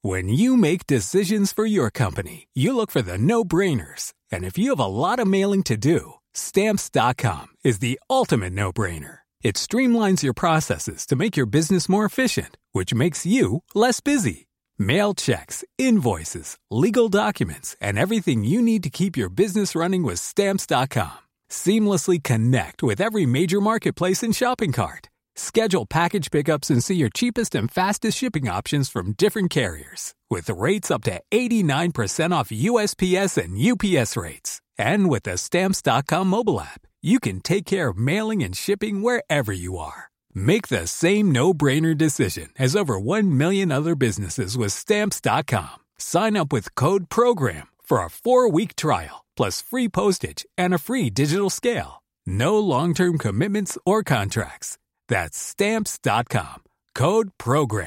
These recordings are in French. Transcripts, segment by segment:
When you make decisions for your company, you look for the no-brainers. And if you have a lot of mailing to do, Stamps.com is the ultimate no-brainer. It streamlines your processes to make your business more efficient, which makes you less busy. Mail checks, invoices, legal documents, and everything you need to keep your business running with Stamps.com. Seamlessly connect with every major marketplace and shopping cart. Schedule package pickups and see your cheapest and fastest shipping options from different carriers. With rates up to 89% off USPS and UPS rates. And with the Stamps.com mobile app, you can take care of mailing and shipping wherever you are. Make the same no-brainer decision as over 1 million other businesses with Stamps.com. Sign up with code PROGRAM for a 4-week trial, plus free postage and a free digital scale. No long-term commitments or contracts. That's Stamps.com. Code PROGRAM.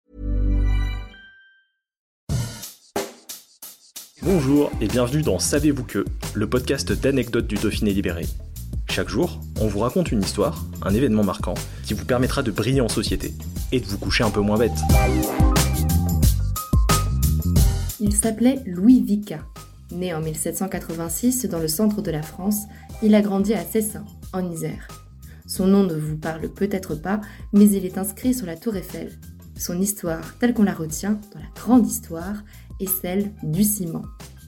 Bonjour et bienvenue dans Savez-vous que, le podcast d'anecdotes du Dauphiné libéré. Chaque jour, on vous raconte une histoire, un événement marquant, qui vous permettra de briller en société et de vous coucher un peu moins bête. Il s'appelait Louis Vicat. Né en 1786 dans le centre de la France, il a grandi à Cessin, en Isère. Son nom ne vous parle peut-être pas, mais il est inscrit sur la tour Eiffel. Son histoire, telle qu'on la retient dans la grande histoire, est celle du ciment.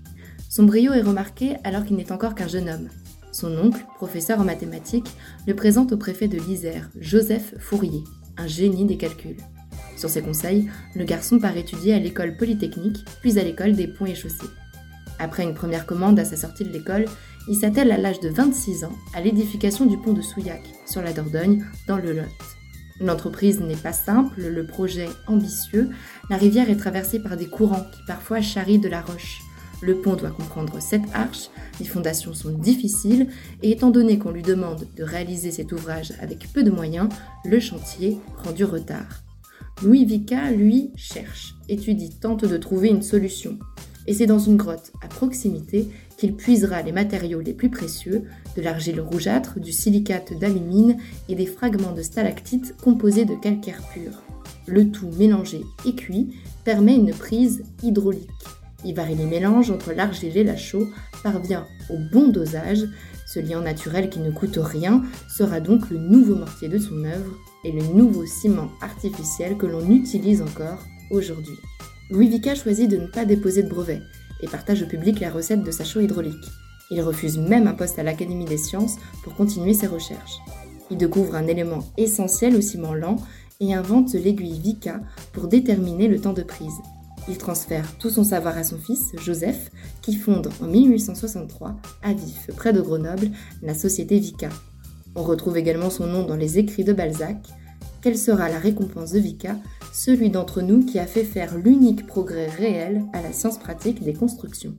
Son brio est remarqué alors qu'il n'est encore qu'un jeune homme. Son oncle, professeur en mathématiques, le présente au préfet de l'Isère, Joseph Fourier, un génie des calculs. Sur ses conseils, le garçon part étudier à l'école polytechnique, puis à l'école des ponts et chaussées. Après une première commande à sa sortie de l'école, il s'attelle à l'âge de 26 ans à l'édification du pont de Souillac, sur la Dordogne, dans le Lot. L'entreprise n'est pas simple, le projet ambitieux, la rivière est traversée par des courants qui parfois charrient de la roche. Le pont doit comprendre 7 arches, les fondations sont difficiles et étant donné qu'on lui demande de réaliser cet ouvrage avec peu de moyens, le chantier prend du retard. Louis Vicat, lui, cherche, étudie, tente de trouver une solution. Et c'est dans une grotte à proximité qu'il puisera les matériaux les plus précieux, de l'argile rougeâtre, du silicate d'alumine et des fragments de stalactites composés de calcaire pur. Le tout mélangé et cuit permet une prise hydraulique. Il varie les mélanges entre l'argile et la chaux, parvient au bon dosage. Ce liant naturel qui ne coûte rien sera donc le nouveau mortier de son œuvre et le nouveau ciment artificiel que l'on utilise encore aujourd'hui. Louis Vicat choisit de ne pas déposer de brevet et partage au public la recette de sa chaux hydraulique. Il refuse même un poste à l'Académie des sciences pour continuer ses recherches. Il découvre un élément essentiel au ciment lent et invente l'aiguille Vicat pour déterminer le temps de prise. Il transfère tout son savoir à son fils, Joseph, qui fonde en 1863, à Vif, près de Grenoble, la société Vicat. On retrouve également son nom dans les écrits de Balzac. Quelle sera la récompense de Vicat ? Celui d'entre nous qui a fait faire l'unique progrès réel à la science pratique des constructions.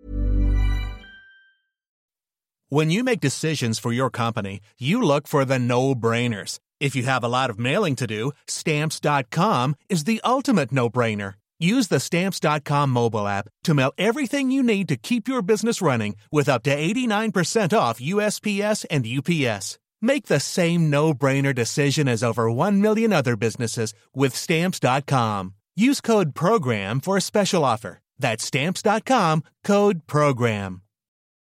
When you make decisions for your company, you look for the no-brainers. If you have a lot of mailing to do, Stamps.com is the ultimate no-brainer. Use the Stamps.com mobile app to mail everything you need to keep your business running with up to 89% off USPS and UPS. Make the same no-brainer decision as over 1 million other businesses with Stamps.com. Use code PROGRAM for a special offer. That's Stamps.com, code PROGRAM.